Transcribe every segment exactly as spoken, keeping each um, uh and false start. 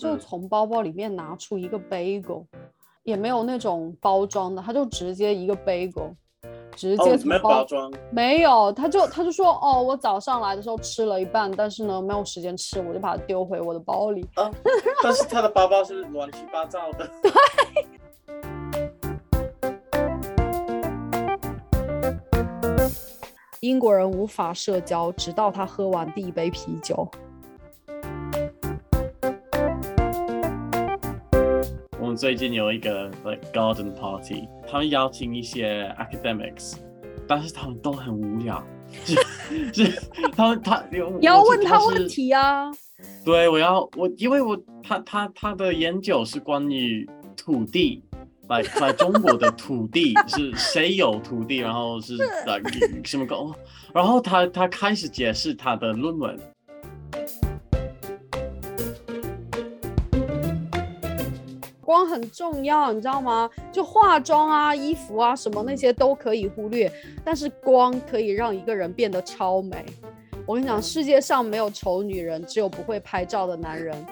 就从包包里面拿出一个 bagel，也没有那种包装的，他就直接一个 bagel， 直接从包、 哦、没有包装， 没有，他就他就说哦，我早上来的时候吃了一半，但是呢没有时间吃，我就把它丢回我的包里。 哦、但是他的包包是乱七八糟的。 对。英国人无法社交，直到他喝完第一杯啤酒。 我们最近有一个 like garden party， 他们邀请一些 academics， 但是他们都很无聊。是是他们他你要问他问题啊。 对，我要我因为我他他他的研究是关于土地。来在中国的土地是谁有土地，然后是什么狗，然后他他开始解释他的论文。 光很重要，你知道吗？就化妆啊、衣服啊什么那些都可以忽略，但是光可以让一个人变得超美。我跟你讲，世界上没有丑女人，只有不会拍照的男人。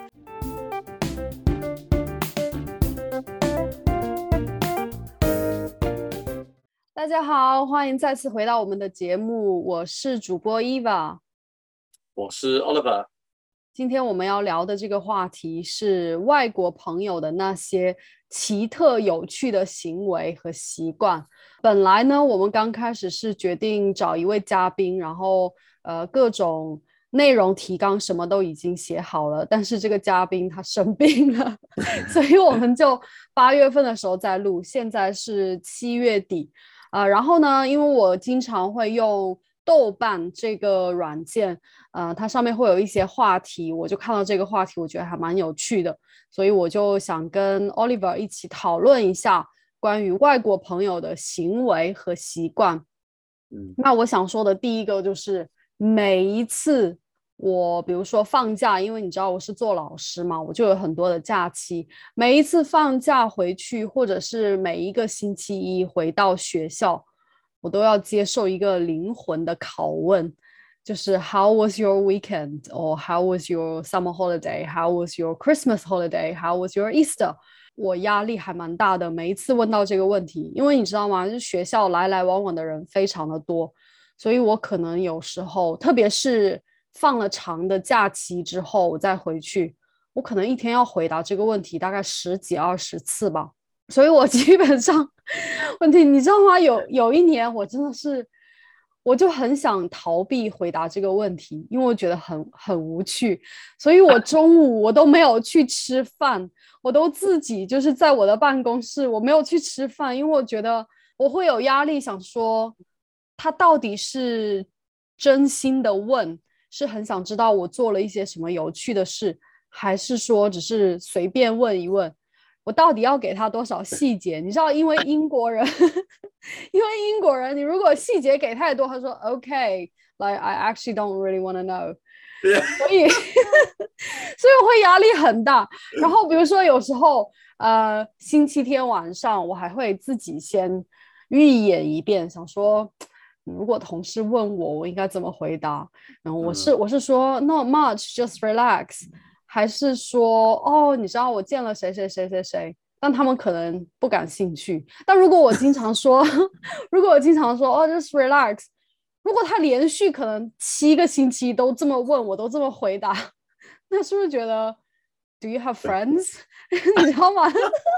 大家好，欢迎再次回到我们的节目，我是主播 Eva， 我是 Oliver。 今天我们要聊的这个话题是外国朋友的那些奇特有趣的行为和习惯。本来呢，我们刚开始是决定找一位嘉宾，然后呃各种内容提纲什么都已经写好了，但是这个嘉宾他生病了，所以我们就八月份的时候再录，现在是七月底。呃，然后呢，因为我经常会用豆瓣这个软件，呃，它上面会有一些话题，我就看到这个话题，我觉得还蛮有趣的，所以我就想跟 Oliver 一起讨论一下关于外国朋友的行为和习惯。嗯，那我想说的第一个就是每一次我比如说放假，因为你知道我是做老师嘛，我就有很多的假期，每一次放假回去，或者是每一个星期一回到学校，我都要接受一个灵魂的拷问，就是 How was your weekend? Or How was your summer holiday? How was your Christmas holiday? How was your Easter? 我压力还蛮大的，每一次问到这个问题，因为你知道吗，就是学校来来往往的人非常的多，所以我可能有时候，特别是放了长的假期之后我再回去，我可能一天要回答这个问题大概十几二十次吧，所以我基本上问题你知道吗，有有一年我真的是我就很想逃避回答这个问题，因为我觉得很很无趣，所以我中午我都没有去吃饭，我都自己就是在我的办公室，我没有去吃饭，因为我觉得我会有压力，想说他到底是真心的问，是很想知道我做了一些什么有趣的事，还是说只是随便问一问，我到底要给他多少细节？你知道，因为英国人，因为英国人，你如果细节给太多，他说 OK，like I actually don't really want to know， 所以所以我会压力很大。然后比如说有时候，呃，星期天晚上我还会自己先预演一遍，想说。如果同事问我，我应该怎么回答？然后我是、嗯、我是说 not much, just relax， 还是说哦，你知道我见了谁谁谁谁谁，但他们可能不感兴趣。但如果我经常说，如果我经常说哦 just relax， 如果他连续可能七个星期都这么问，我都这么回答，那是不是觉得 Do you have friends？ 你知道吗？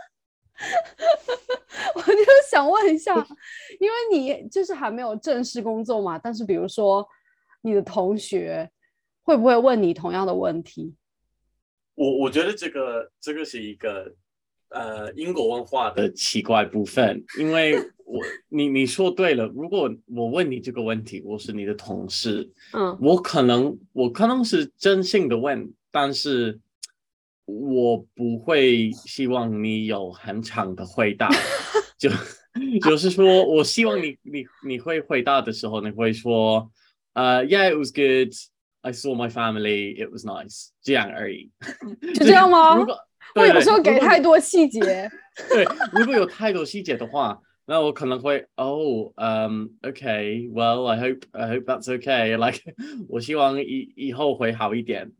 我就想问一下，因为你就是还没有正式工作嘛，但是比如说你的同学会不会问你同样的问题？ 我我觉得这个这个是一个呃英国文化的奇怪部分，因为我你你说对了，如果我问你这个问题，我是你的同事，嗯，我可能我可能是真心的问，但是我不会希望你有很长的回答，就就是说，我希望你你你会回答的时候，你会说，呃、uh, ，Yeah, it was good. I saw my family. It was nice. 这样而已。 就这样吗？ 如果我有时候给太多细节。 对，如果有太多细节的话，那我可能会哦，嗯、um, ，OK, well, I hope I hope that's okay. Like, 我希望以以后会好一点。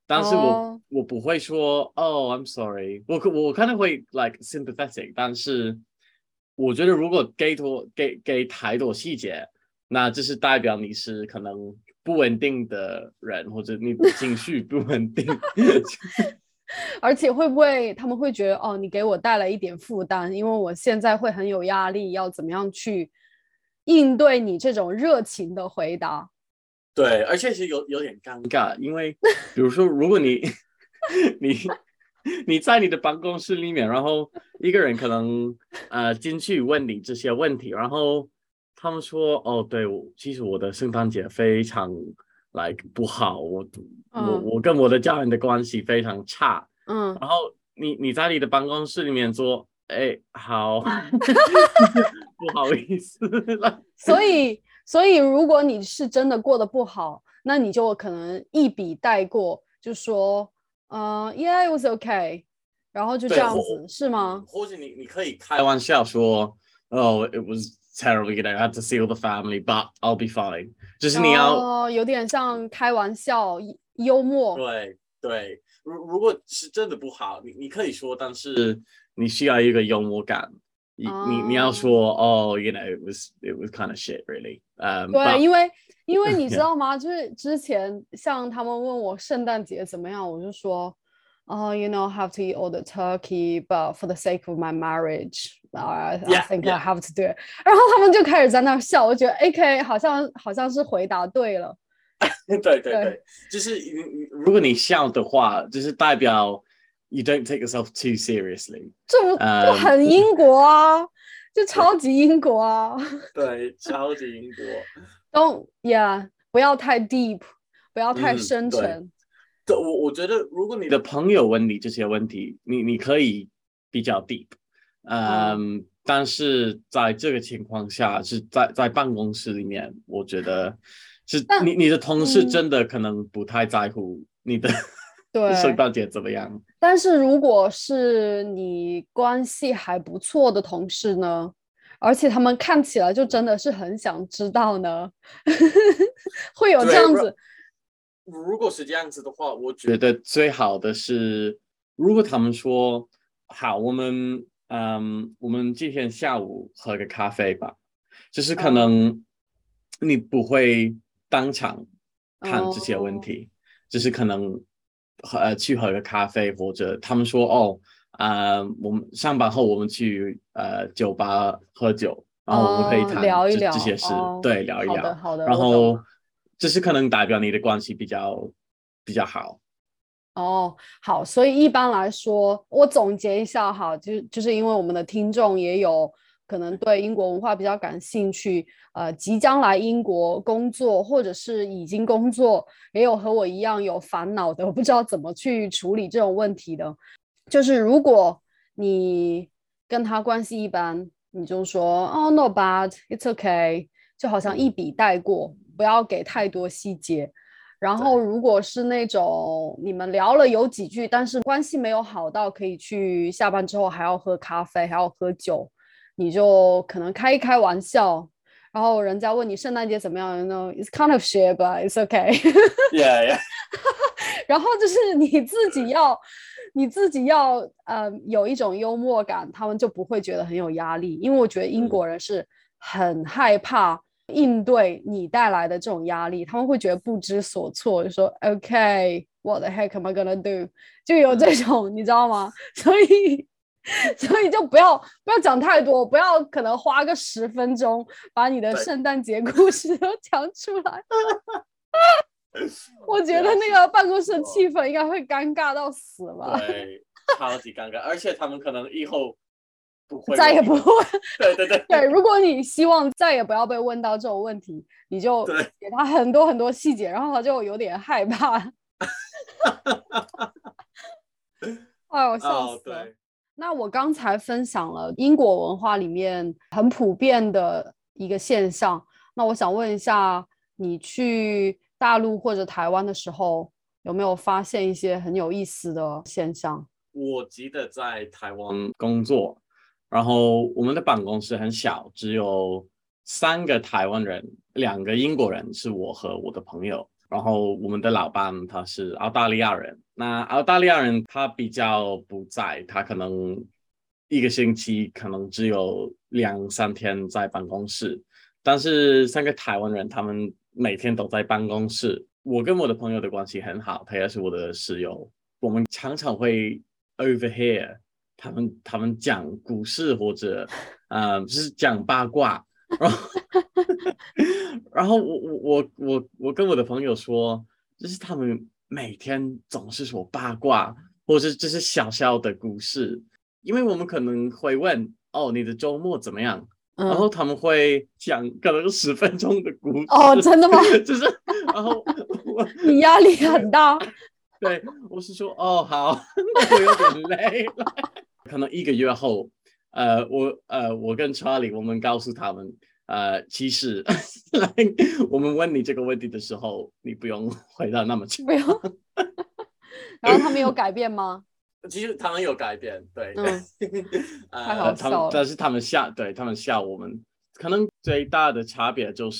但是我、 哦我不会说哦 I'm sorry，我我可能会 like sympathetic，但是我觉得如果给多给给太多细节，那这是代表你是可能不稳定的人，或者你的情绪不稳定。 而且会不会他们会觉得哦，你给我带来一点负担，因为我现在会很有压力，要怎么样去应对你这种热情的回答？ 对，而且是有有点尴尬，因为比如说，如果你你你在你的办公室里面，然后一个人可能呃进去问你这些问题，然后他们说哦，对，我其实我的圣诞节非常 like 不好，我我嗯我跟我的家人的关系非常差， 嗯。 然后你你在你的办公室里面说，哎，好，不好意思了。 所以，所以如果你是真的过得不好，那你就可能一笔带过，就说，呃，Yeah, it was okay，然后就这对，或样子，是吗？ 或者你你可以开玩笑说，Oh, it was terrible, you know, I had to see all the family, but I'll be fine。就是你要哦，有点像开玩笑，幽默。 对对，如如果是真的不好，你你可以说，但是你需要一个幽默感。你你你要啊， 说哦，you know, it was it was kind of shit, really. Um, 对， but 因为因为你知 yeah, 道吗？就是之前像他们问我圣诞节怎么样，我就说，哦，you know, have to eat all the turkey, but for the sake of my marriage, I I yeah, think I yeah。 have to do it。然后他们就开始在那笑，我觉得 A K 好像好像是回答对了， 对对对， 对，就是如果你笑的话，就是代表 you don't take yourself too seriously。 这不就嗯， 很英国啊，就超对级英国啊。 对，超级英国。 Don't yeah，不要太 deep，不要太嗯，对。 深沉。 对，我我觉得，如果你的朋友问你这些问题，你你可以比较 deep， 嗯， 嗯，但是在这个情况下，是在在办公室里面，我觉得是但你你的同事嗯， 真的可能不太在乎你的圣对。 诞节怎么样。 但是如果是你关系还不错的同事呢，而且他们看起来就真的是很想知道呢，会有这对，如样子。 如果是这样子的话，我觉得最好的是，如果他们说好，我们嗯，我们今天下午喝个咖啡吧。就是可啊， 能你不会当场看这些问哦， 题，就是可能呃去喝个咖啡，或者他们说哦，呃，我们上班后我们去呃酒吧喝酒，然后我们可以哦， 谈这这聊一聊， 些事， 哦， 对，聊一好的， 聊， 好的，我懂了。 然后这是可能代表你的关系比较比较好。 哦，好，所以一般来说，我总结一下哈，就就是因为我们的听众也有可能对英国文化比较感兴趣，呃，即将来英国工作，或者是已经工作，也有和我一样有烦恼的，我不知道怎么去处理这种问题的。就是如果你跟他关系一般，你就说哦，not bad，it's okay，就好像一嗯， 笔带过，不要给太多细节。然后， 对如果是那种你们聊了有几句，但是关系没有好到可以去下班之后还要喝咖啡，还要喝酒，你就可能开一开玩笑。然后人家问你圣诞节怎么样呢？It's kind of shit, but it's okay ，yeah yeah， 然后就是你自己要，你自己要呃有一种幽默感，他们就不会觉得很有压力。因为我觉得英嗯， 国人是很害怕应对你带来的这种压力，他们会觉得不知所措，就说 OK，what the heck am I gonna do？就有这种你知道吗？所以。所以就不要不要讲太多，不要可能花个十分钟把你的对， 圣诞节故事都讲出来。我觉得对啊，是那个办公室的气我。 氛应该会尴尬到死吧， 对，超级尴尬，而且他们可能以后不会再也不会。 问你问题。对对对对，如果你希望再也不要被问到这种问题，你就对， 给他很多很多细节，然后他就有点害怕。哎呦，笑死了。 哦对， 那我刚才分享了英国文化里面很普遍的一个现象，那我想问一下，你去大陆或者台湾的时候，有没有发现一些很有意思的现象？ 我记得在台湾工作，然后我们的办公室很小，只有三个台湾人，两个英国人，是我和我的朋友。 然后我们的老板他是澳大利亚人，那澳大利亚人他比较不在，他可能一个星期可能只有两三天在办公室，但是三个台湾人他们每天都在办公室。我跟我的朋友的关系很好，他也是我的室友，我们常常会 overhear 他们他们讲故事或者呃就是讲八卦，然后然后我我我我我跟我的朋友说，就是他们每天总是说八卦，或者这是小小的故事，因为我们可能会问哦你的周末怎么样，然后嗯， 他们会讲可能十分钟的故哦， 事， 真的吗？ 就是然后我你压力很大。 对我是说哦好，那我有点累了，可能一个月后，呃我呃我跟 Charlie 我们告诉他们。呃，其实来我们问你这个问题的时候，你不用回答那么长。 不用。然后他们有改变吗？ 其实他们有改变，对， 嗯，太呃， 好他们笑了。 但是他们笑，对他们笑我们，可能最大的差别就是，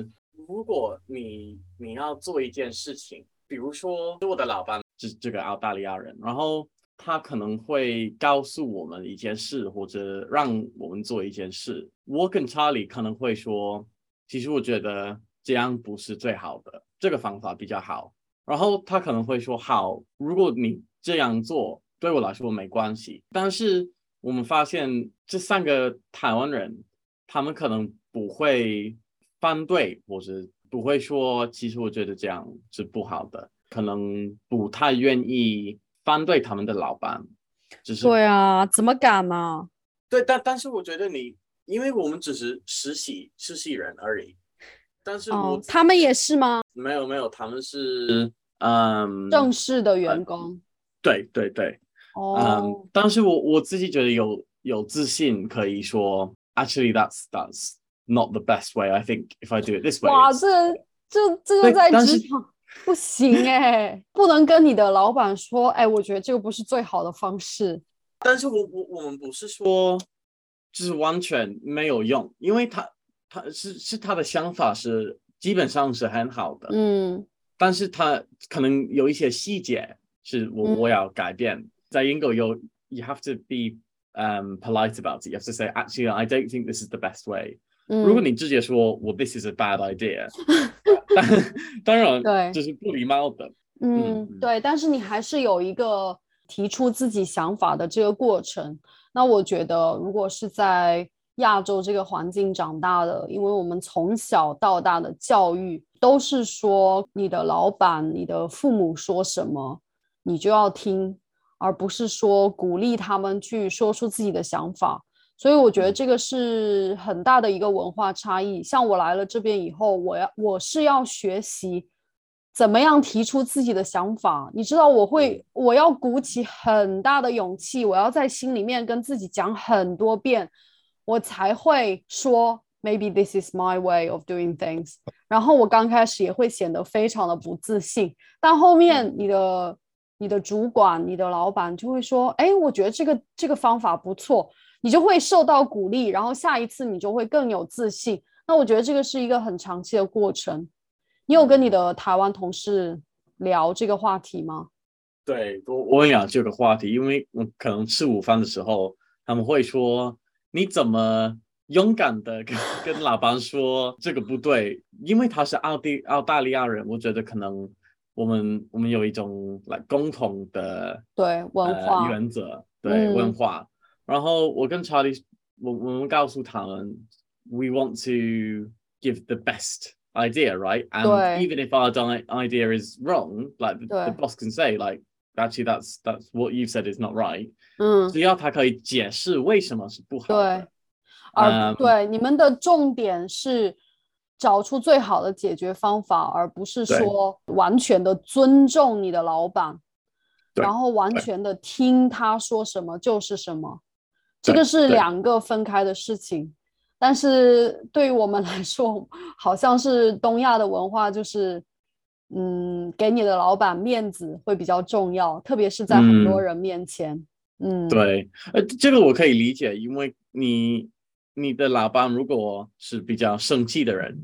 如果你你要做一件事情，比如说我的老板是这个澳大利亚人，然后他可能会告诉我们一件事，或者让我们做一件事，我跟查理可能会说，其实我觉得这样不是最好的，这个方法比较好。然后他可能会说好，如果你这样做对我来说没关系，但是我们发现这三个台湾人，他们可能不会反对，或者不会说，其实我觉得这样是不好的，可能不太愿意反对他们的老板，只是对啊，怎么敢呢？ 对，但但是我觉得你，因为我们只是实习实习人而已，但是我哦， 自己他们也是吗？ 没有没有，他们是嗯正式的呃员工。 对对对，嗯， 哦， 但是我我自己觉得有有自信可以说，actually that's that's not the best way. I think if I do it this way, 哇， it's 这这这个对， 在但是职场不行哎，不能跟你的老板说，哎，我觉得这个不是最好的方式。 但是我我我们不是说就是完全没有用，因为他他是是他的想法是基本上是很好的， 嗯但是他可能有一些细节是我嗯我要改变。在英国有 you have to be um polite about it. You have to say actually I don't think this is the best way. 如果嗯， 你直接说我 this is a bad idea，当当然对。 这是不礼貌的。嗯嗯， 嗯， 对，但是你还是有一个提出自己想法的这个过程。那我觉得，如果是在亚洲这个环境长大的，因为我们从小到大的教育都是说，你的老板、你的父母说什么，你就要听，而不是说鼓励他们去说出自己的想法。所以我觉得嗯这个是很大的一个文化差异。像我来了这边以后，我要我是要学习怎么样提出自己的想法。你知道，我会嗯我要鼓起很大的勇气，我要在心里面跟自己讲很多遍，我才会说 maybe this is my way of doing things。然后我刚开始也会显得非常的不自信，但后面你嗯的你的主管、你的老板就会说，哎，我觉得这个这个方法不错。你就会受到鼓励，然后下一次你就会更有自信。那我觉得这个是一个很长期的过程。你有跟你嗯。 的台湾同事聊这个话题吗？ 对，我我很想这个话题，因为我可能吃午饭的时候，他们会说你怎么勇敢的跟跟老板说这个不对，因为他是奥地澳大利亚人，我觉得可能我们我们有一种来共同的对，文呃化。 原则，对文嗯， 化。然后我跟查理，我我们告诉他们，we want to give the best idea, right? And 对 even if our idea is wrong, like the, the 对， boss can say, like, actually, that's that's what you've said is not right. 嗯只要他可以解释为什么是不好对， 的， 而嗯， 对你们的重点是找出最好的解决方法，而不是对说完全的尊重你的老板，然对后完对全的听他说什么就是什么。这个对对， 是两个分开的事情，但是对于我们来说，好像是东亚的文化，就是嗯，给你的老板面子会比较重要，特别是在很多嗯。 人面前。嗯， 对，呃，这个我可以理解，因为你你的老板如果是比较生气的人，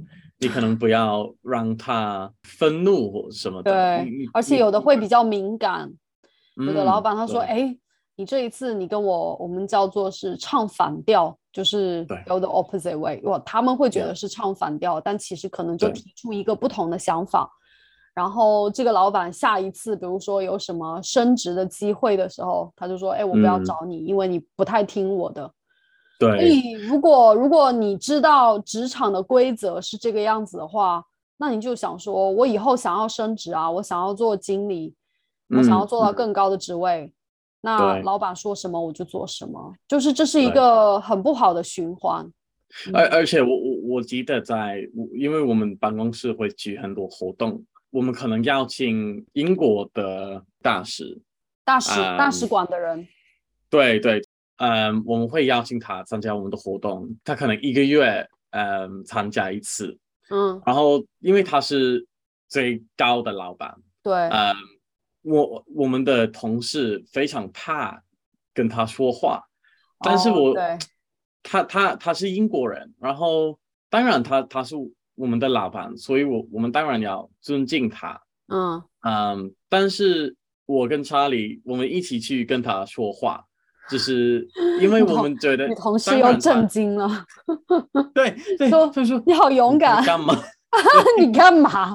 你可能不要让他愤怒或什么的。 对，而且有的会比较敏感，有的老板他说：“哎，你这一次你跟我我们叫做是唱反调，就是 go the opposite way。”哇，他们会觉得是唱反调，但其实可能就提出一个不同的想法。然后这个老板下一次，比如说有什么升职的机会的时候，他就说：“哎，我不要找你，嗯、因为你不太听我的。” 对。 所以如果如果你知道职场的规则是这个样子的话，那你就想说，我以后想要升职啊，我想要做经理，我想要做到更高的职位，嗯、那老板说什么我就做什么，就是这是一个很不好的循环。 而、嗯、而且我我我记得在，因为我们办公室会举很多活动，我们可能邀请英国的大使、 大使、嗯、大使馆的人， 对对，嗯，我们会邀请他参加我们的活动，他可能一个月嗯参加一次。嗯，然后因为他是最高的老板， 对， 呃，我我们的同事非常怕跟他说话，但是我、 哦、 他他他是英国人，然后当然他他是我们的老板，所以我我们当然要尊敬他，嗯嗯，但是我跟查理我们一起去跟他说话，就是因为我们觉得你同事又震惊了。 对对， 说所以说你好勇敢， 你干嘛？ 你干嘛？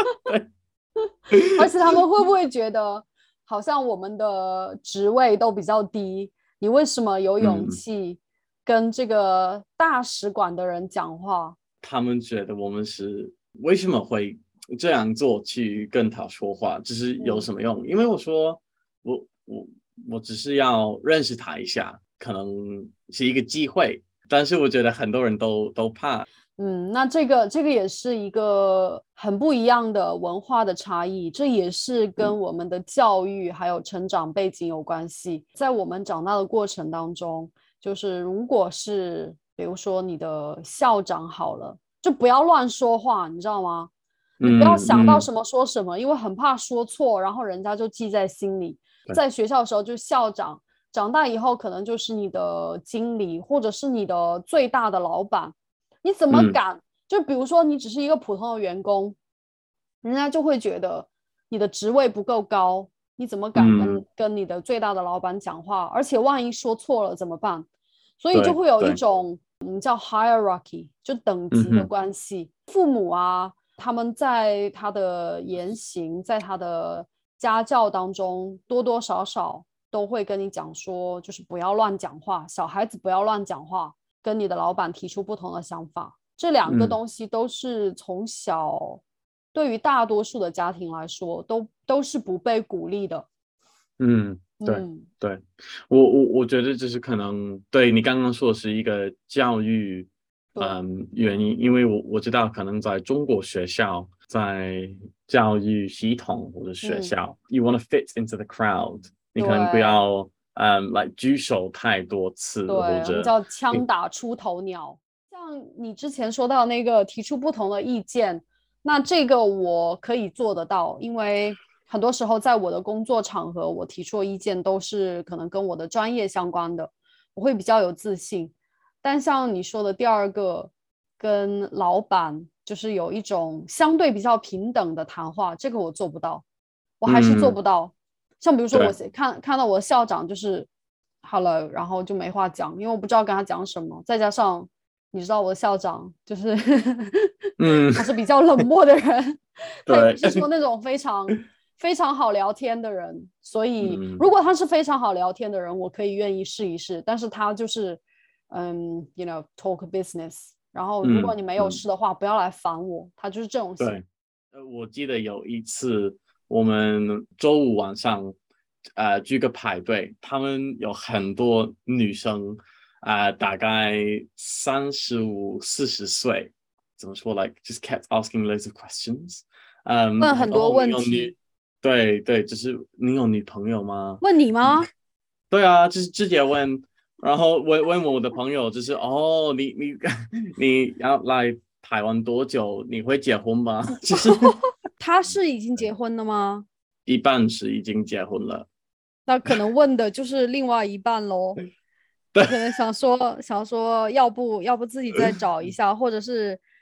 而且他们会不会觉得，好像我们的职位都比较低，你为什么有勇气跟这个大使馆的人讲话？ 嗯、他们觉得我们是为什么会这样做去跟他说话，就是有什么用？嗯、因为我说我我我只是要认识他一下，可能是一个机会。但是我觉得很多人都都怕， 嗯，那这个这个也是一个很不一样的文化的差异，这也是跟我们的教育还有成长背景有关系。在我们长大的过程当中，就是如果是比如说你的校长好了，就不要乱说话，你知道吗？你不要想到什么说什么，嗯嗯、因为很怕说错，然后人家就记在心里。在学校的时候就是校长。长大以后可能就是你的经理或者是你的最大的老板，你怎么敢、嗯、就比如说你只是一个普通的员工，人家就会觉得你的职位不够高，你怎么敢跟、嗯、跟你的最大的老板讲话，而且万一说错了怎么办？所以就会有一种我们叫 hierarchy 就等级的关系、嗯、父母啊他们在他的言行在他的家教当中多多少少都会跟你讲说，就是不要乱讲话，小孩子不要乱讲话，跟你的老板提出不同的想法，这两个东西都是从小对于大多数的家庭来说都都是不被鼓励的。 嗯，对、嗯、对，我我我觉得这是可能对你刚刚说的是一个教育嗯原因，因为我我知道可能在中国学校在教育系统或者学校、嗯、you want to fit into the crowd，你可能不要嗯来、like, 举手太多次， 对， 或者我们叫枪打出头鸟。像你之前说到那个提出不同的意见，那这个我可以做得到，因为很多时候在我的工作场合，我提出的意见都是可能跟我的专业相关的，我会比较有自信。但像你说的第二个，跟老板就是有一种相对比较平等的谈话，这个我做不到，我还是做不到。嗯、像比如说我看看到我的校长就是好了，然后就没话讲，因为我不知道跟他讲什么。再加上你知道我的校长就是嗯，他是比较冷漠的人，他也不是说那种非常非常好聊天的人。所以如果他是非常好聊天的人，我可以愿意试一试。但是他就是嗯 ，you know talk business。然后如果你没有事的话，嗯、不要来烦我。他就是这种型。 对，呃，我记得有一次我们周五晚上。呃，举个排队，他们有很多女生，啊、呃，大概三十五、四十岁，怎么说 ？Like just kept asking loads of questions， 嗯、um, 问很多问题。 对对，就是你有女朋友吗？ 问你吗？ 对啊，就是直接问，然后问问我的朋友，就是哦，你你你要来台湾多久？你会结婚吗？其实他是已经结婚了吗？ 一半是已经结婚了。 那可能问的就是另外一半咯。他可能想说想说要不要不自己再找一下，或者是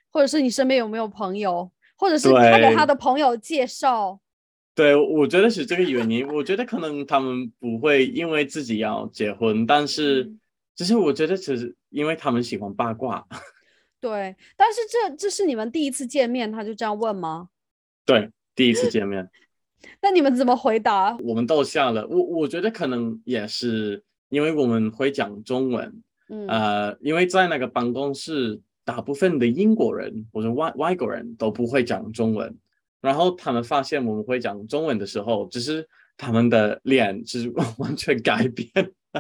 或者是你身边有没有朋友，或者是他给他对的朋友介绍。 对，我觉得是这个原因。我觉得可能他们不会因为自己要结婚，但是嗯， 只是我觉得只是因为他们喜欢八卦。 对，但是这这是你们第一次见面，他就这样问吗？ 对，第一次见面。 那你们怎么回答？ 我们都笑了。我我觉得可能也是因为我们会讲中文， 嗯呃，因为在那个办公室，大部分的英国人或者外外国人都不会讲中文，然后他们发现我们会讲中文的时候，只是他们的脸就是完全改变。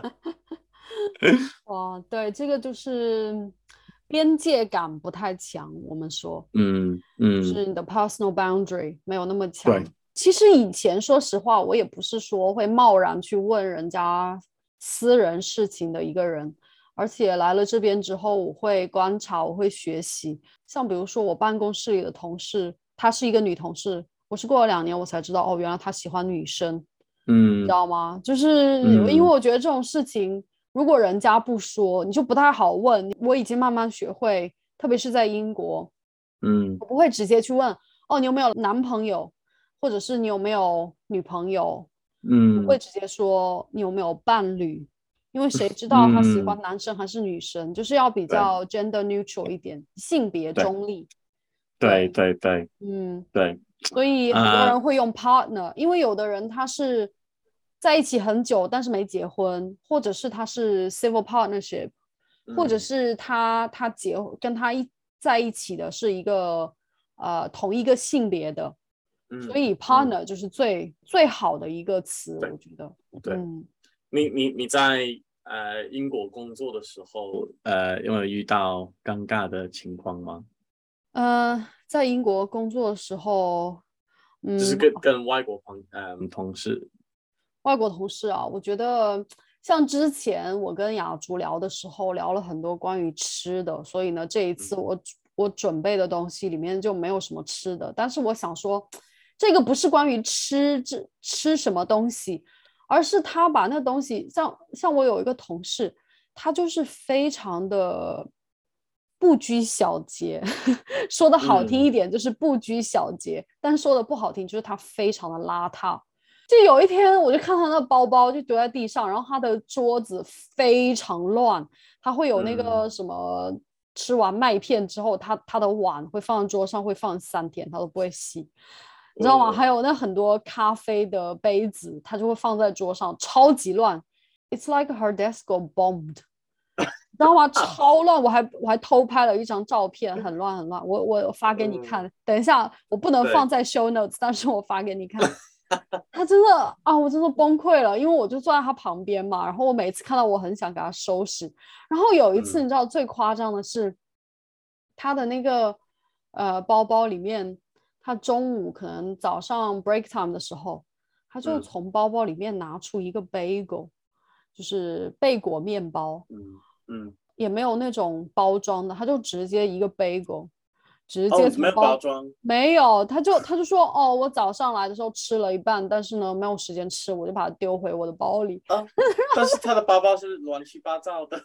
哇，对，这个就是边界感不太强，我们说。 嗯嗯， 就是你的 personal boundary 没有那么强。 对， 其实以前说实话，我也不是说会贸然去问人家私人事情的一个人，而且来了这边之后，我会观察，我会学习。像比如说我办公室里的同事，她是一个女同事，我是过了两年我才知道，哦，原来她喜欢女生，知嗯道吗？就是因为嗯我觉得这种事情，如果人家不说，你就不太好问。我已经慢慢学会，特别是在英国。 嗯我不会直接去问哦，你有没有男朋友，或者是你有没有女朋友，不会嗯直接说你有没有伴侣，因为谁知道他喜欢嗯， 男生还是女生，就是要比对较 gender neutral 一点，性别对中立。 对对， 对对嗯， 对所以很多啊， 人会用 partner，因为有的人他是在一起很久，但是没结婚，或者是他是 civil partnership，或者嗯是他他结跟他一在一起的是一个呃同一个性别的，所嗯以嗯， partner 就是最最好的一个词， 对我觉得。 对。 嗯。 你你你在呃英国工作的时候，呃，有没有遇到尴尬的情况吗？ 呃，在英国工作的时候，嗯， 就是跟跟外国朋嗯、呃同事， 外国同事啊，我觉得像之前我跟雅竹聊的时候，聊了很多关于吃的，所以呢，这一次嗯我我准备的东西里面就没有什么吃的。但是我想说，这个不是关于吃这吃什么东西，而是他把那东西，像像我有一个同事，他就是非常的不拘小节，说的好听一嗯点就是不拘小节，但是说的不好听就是他非常的邋遢。就有一天，我就看他那包包就丢在地上，然后他的桌子非常乱，他会有那个嗯， 什么，吃完麦片之后，他他的碗会放在桌上，会放三天，他都不会洗，你知道吗？ 哦， 还有那很多咖啡的杯子，他就会放在桌上，超级乱。It's like her desk got bombed，你知道吗？超乱，我还我还偷拍了一张照片，很乱很乱，我我发给你嗯， 看。等一下，我不能放对， 在 show notes，但是我发给你看。他真的啊，我真的崩溃了，因为我就坐在他旁边嘛，然后我每次看到我很想给他收拾，然后有一次你嗯知道最夸张的是，他的那个呃包包里面，他中午可能早上 break time 的时候，他就嗯从包包里面拿出一个 bagel，就是贝果面包， 嗯嗯， 也没有那种包装的，他就直接一个 bagel，直哦， 接没有从包包装， 没有，他就他就说哦，我早上来的时候吃了一半，但是呢没有时间吃，我就把它丢回我的包里。 啊，但是他的包包是乱七八糟的。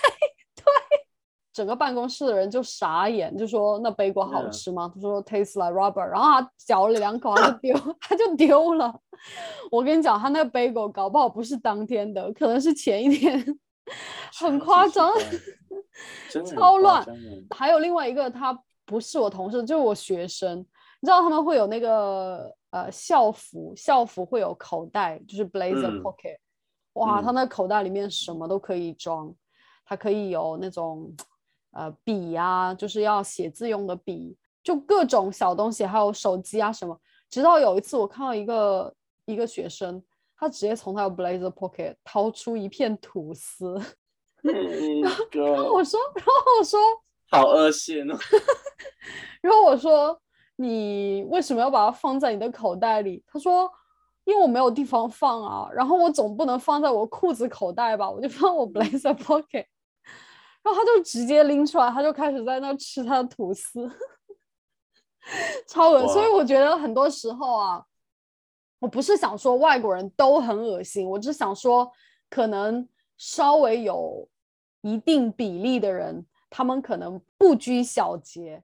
整个办公室的人就傻眼，就说那杯果好嗯， 吃吗？他说 tastes like rubber，然后他嚼了两口，他就丢，他就丢了。我跟你讲，他那个杯果搞不好不是当天的，可能是前一天，很超级夸张， 奇怪，真的很超乱。 夸张的。 还有另外一个，他不是我同事，就是我学生。你知道他们会有那个呃校服，校服会有口袋，就是 blazer 嗯 pocket。哇，他嗯那口袋里面什么都可以装，它可以有那种呃笔啊，就是要写字用的笔，就各种小东西，还有手机啊什么。直到有一次我看到一个一个学生，他直接从他的 blazer pocket 掏出一片吐司， 嗯， 然后我哥， 说，然后我说， 好恶心哦。 然后我说你为什么要把它放在你的口袋里？他说因为我没有地方放啊，然后我总不能放在我裤子口袋吧，我就放我 blazer pocket。然后他就直接拎出来，他就开始在那吃他的吐司，超恶。所以哇， 我觉得很多时候啊，我不是想说外国人都很恶心，我只想说可能稍微有一定比例的人，他们可能不拘小节，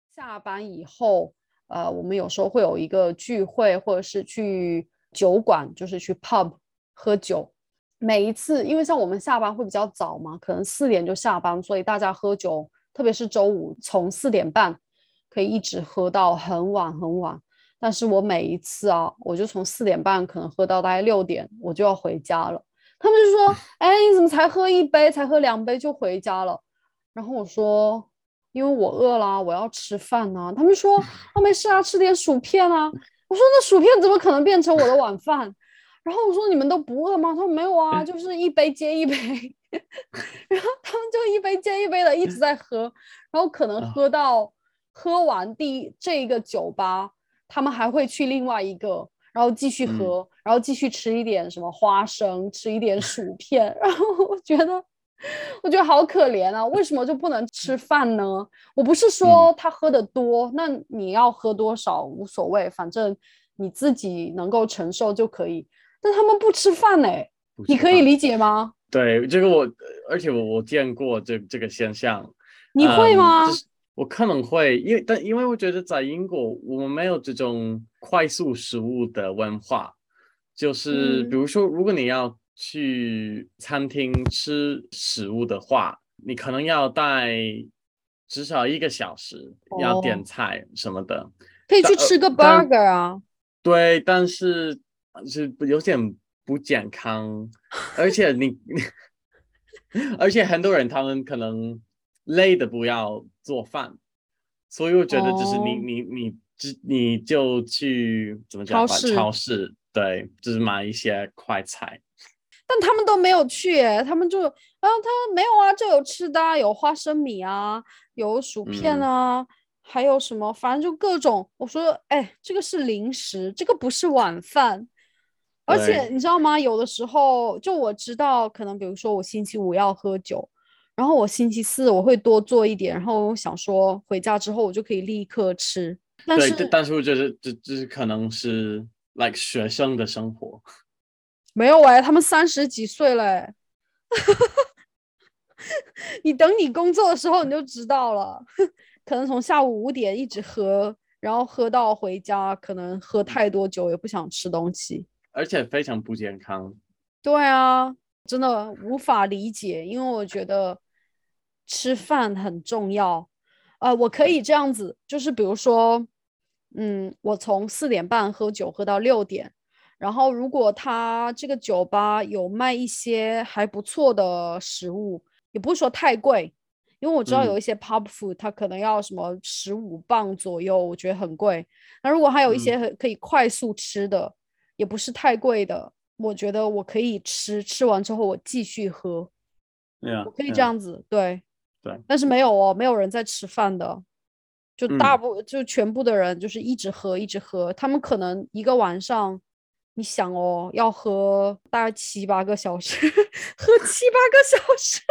下班以后，呃，我们有时候会有一个聚会，或者是去酒馆，就是去 pub 喝酒。每一次，因为像我们下班会比较早嘛，可能四点就下班，所以大家喝酒，特别是周五，从四点半可以一直喝到很晚很晚。但是我每一次啊，我就从四点半可能喝到大概六点，我就要回家了。他们就说：“哎，你怎么才喝一杯，才喝两杯就回家了？”然后我说：“因为我饿啦，我要吃饭呐、啊。”他们说：“哦，没事啊，吃点薯片啊。”我说：“那薯片怎么可能变成我的晚饭？”然后我说：“你们都不饿吗？”他说：“没有啊，就是一杯接一杯。”然后他们就一杯接一杯的一直在喝，然后可能喝到喝完第这个酒吧，他们还会去另外一个，然后继续喝， 嗯然后继续吃一点什么花生，吃一点薯片。然后我觉得，我觉得好可怜啊！为什么就不能吃饭呢？我不是嗯说他喝的多，那你要喝多少无所谓，反正你自己能够承受就可以。但他们不吃饭哎，你不吃饭。 可以理解吗？ 对，这个我，而且我我见过这这个现象。 你会嗯，就吗？ 是我可能会，因为但因为我觉得在英国我们没有这种快速食物的文化，就是比嗯， 如说，如果你要去餐厅吃食物的话，你可能要待至少一个小时，要点哦， 菜什么的。 可以但呃， 去吃个但 burger 啊。 对，但是是有点不健康，而且你而且很多人他们可能累的不要做饭，所以我觉得就是你哦， 你你只你就去怎么讲吧， 超市， 超市对，就是买一些快菜。 但他们都没有去耶，他们就，啊，他没有啊，这有吃的啊，有花生米啊，有薯片嗯， 啊，还有什么，反正就各种。我说，哎，这个是零食，这个不是晚饭。而且对你知道吗？有的时候，就我知道，可能比如说我星期五要喝酒，然后我星期四我会多做一点，然后我想说回家之后我就可以立刻吃。但对，但是但是我觉得这这可能是 like 学生的生活。 没有哎，他们三十几岁了哎，你等你工作的时候你就知道了，可能从下午五点一直喝，然后喝到回家，可能喝太多酒也不想吃东西。 而且非常不健康。 对啊，真的无法理解，因为我觉得吃饭很重要。呃，我可以这样子，就是比如说，嗯，我从四点半喝酒喝到六点，然后如果他这个酒吧有卖一些还不错的食物，也不是说太贵，因为我知道有嗯一些 pub food 它可能要什么十五磅左右，我觉得很贵。那如果还有一些嗯， 很可以快速吃的，也不是太贵的。我觉得我可以吃，吃完之后我继续喝， 对呀我可以这对呀样子，对。 对， 但是没有哦，没有人在吃饭的，就大嗯。 部就全部的人就是一直喝，一直喝。他们可能一个晚上，你想哦，要喝大概七八个小时，喝七八个小时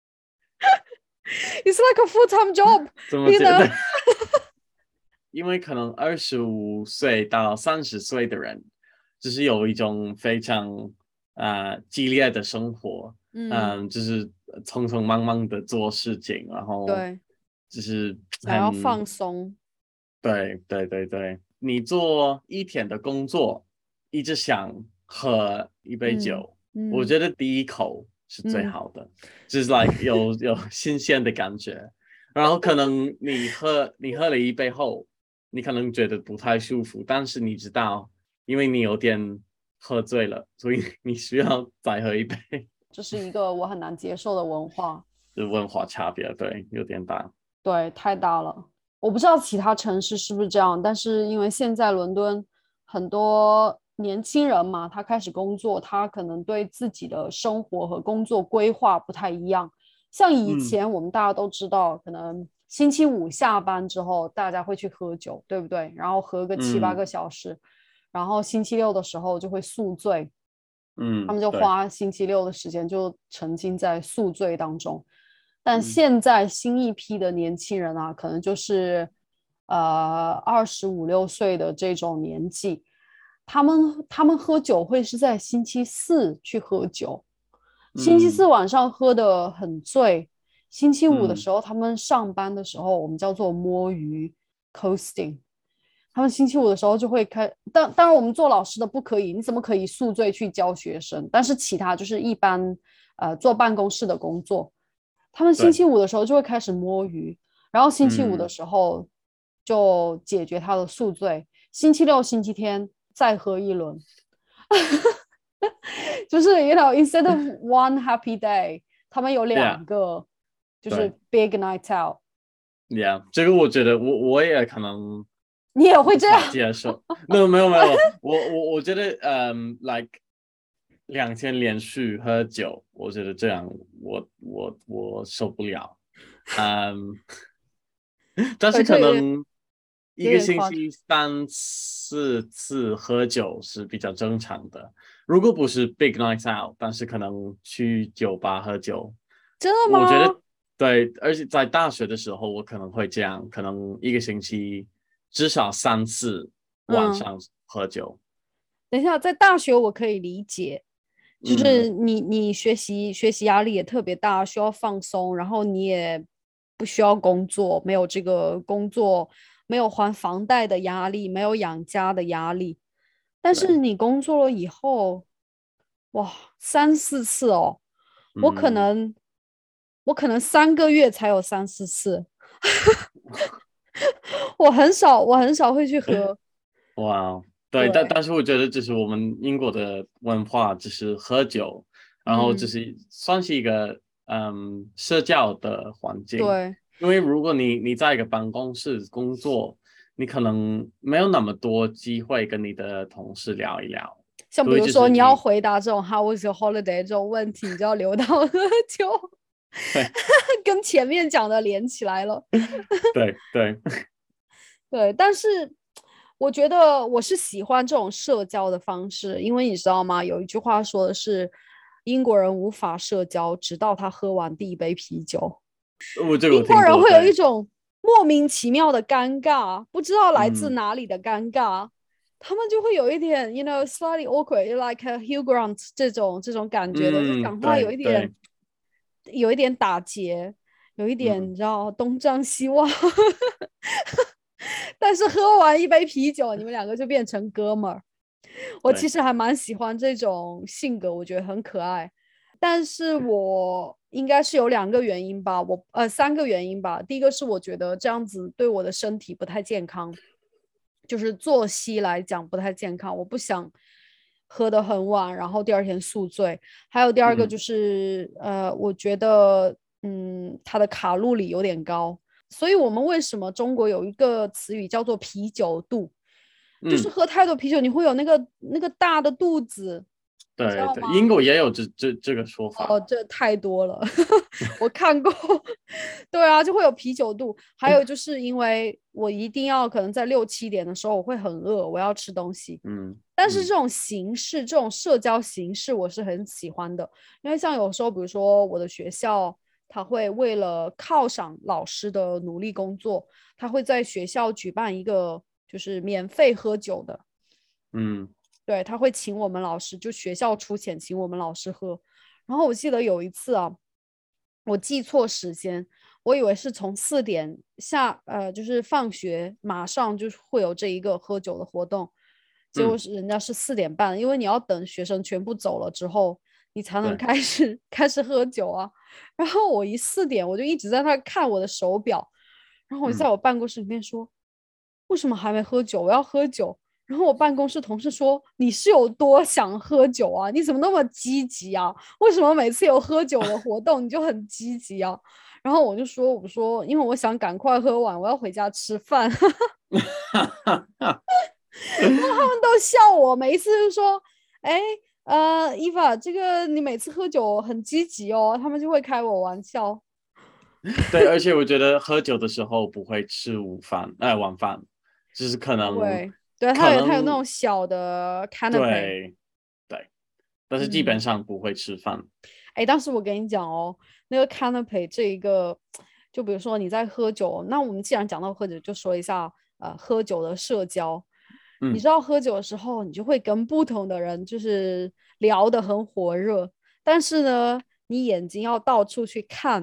，It's like a full-time job, 怎么 you 觉得？ know？ 因为可能二十五岁到三十岁的人，就是有一种非常啊、呃激烈的生活。 嗯， 嗯，就是匆匆忙忙的做事情，然后对， 就是想要很放松， 对对对对，你做一天的工作，一直想喝一杯嗯酒，我嗯觉得第一口是最嗯。 好的，就是 like 有有新鲜的感觉。然后可能你喝你喝了一杯后，你可能觉得不太舒服，但是你知道，因为你有点喝醉了，所以你需要再喝一杯。 这是一个我很难接受的文化。 这文化差别，对，有点大。 对，太大了。我不知道其他城市是不是这样，但是因为现在伦敦很多年轻人嘛，他开始工作，他可能对自己的生活和工作规划不太一样。像以嗯前我们大家都知道，可能星期五下班之后，大家会去喝酒，对不对？然后喝个七八嗯个小时，然后星期六的时候就会宿醉，他嗯， 们就对， 花星期六的时间就沉浸在宿醉当中。但嗯现在新一批的年轻人啊，可能就是呃二十五六岁的这种年纪，他们他们喝酒会是在星期四去喝酒，星期四嗯晚上喝的很醉，星期五的嗯时候他们上班的时候，我们叫做摸鱼， coasting。他们星期五的时候就会开，当当然我们做老师的不可以，你怎么可以宿醉去教学生？但是其他就是一般呃坐办公室的工作，他们星期五的时候就会开始摸鱼，然后星期五的时候就解决他的宿醉，星期六、星期天再喝一轮，就是 you know instead of one happy day， 他们有两个就是 big night out。 Yeah， 这个我觉得我我也可能。 你也会这样接受？没有没有没有，我我我觉得，嗯 ，like 两天连续喝酒，我觉得这样我我我受不了，嗯，但是可能一个星期三四次喝酒是比较正常的。如果不是 big night out， 但是可能去酒吧喝酒， 真的吗？ 我觉得对，而且在大学的时候，我可能会这样，可能一个星期。至少三次晚上喝酒。 嗯、等一下，在大学我可以理解，就是你、嗯、你学习学习压力也特别大，需要放松，然后你也不需要工作，没有这个工作，没有还房贷的压力，没有养家的压力。但是你工作了以后，哇，三四次哦，我可能、嗯、我可能三个月才有三四次。我很少，我很少会去喝。 哇、wow ，对，但但是我觉得就是我们英国的文化就是喝酒，然后就是算是一个 嗯, 嗯社交的环境。 对， 因为如果你你在一个办公室工作，你可能没有那么多机会跟你的同事聊一聊。 像比如说你要回答这种 How was your holiday 这种问题，你就要留到喝酒，跟前面讲的连起来了。 对对对，但是我觉得我是喜欢这种社交的方式，因为你知道吗？有一句话说的是，英国人无法社交，直到他喝完第一杯啤酒。 我这个我英国人会有一种莫名其妙的尴尬，不知道来自哪里的尴尬，嗯、他们就会有一点 ，you know slightly awkward，like a Hugh Grant 这种这种感觉的， 嗯、 就讲话有一点有一点打结，有一点、嗯、你知道东张西望。但是喝完一杯啤酒，你们两个就变成哥们儿。我其实还蛮喜欢这种性格，我觉得很可爱。但是我应该是有两个原因吧，我呃三个原因吧。第一个是我觉得这样子对我的身体不太健康，就是作息来讲不太健康，我不想喝得很晚，然后第二天宿醉。还有第二个就是、嗯、呃，我觉得嗯它的卡路里有点高。所以我们为什么中国有一个词语叫做啤酒肚，嗯、就是喝太多啤酒你会有那个那个大的肚子。 对对，英国也有这这这个说法。 哦，这太多了，我看过。对啊，就会有啤酒肚。还有就是因为我一定要可能在六七点的时候我会很饿，我要吃东西。嗯，但是这种形式、嗯、这种社交形式我是很喜欢的，因为像有时候比如说我的学校他会为了犒赏老师的努力工作，他会在学校举办一个就是免费喝酒的。嗯，对，他会请我们老师，就学校出钱请我们老师喝。然后我记得有一次啊，我记错时间，我以为是从四点下呃，就是放学马上就会有这一个喝酒的活动，结果是人家是四点半、嗯，因为你要等学生全部走了之后，你才能开始开始喝酒啊。然后我一四点我就一直在那看我的手表，然后我就在我办公室里面说，嗯、为什么还没喝酒？我要喝酒。然后我办公室同事说，你是有多想喝酒啊？你怎么那么积极啊？为什么每次有喝酒的活动你就很积极啊？然后我就说，我说因为我想赶快喝完，我要回家吃饭。然后他们都笑我，每一次就说，哎，呃，伊娃，这个你每次喝酒很积极哦，他们就会开我玩笑。 对，而且我觉得喝酒的时候不会吃午饭，哎，晚饭，就是可能会。对，他有他有那种小的 canapé， 对对，但是基本上不会吃饭。 哎、嗯，但是我跟你讲哦，那个 canapé 这一个，就比如说你在喝酒，那我们既然讲到喝酒，就说一下呃喝酒的社交。嗯、你知道喝酒的时候，你就会跟不同的人就是聊得很火热，但是呢，你眼睛要到处去看，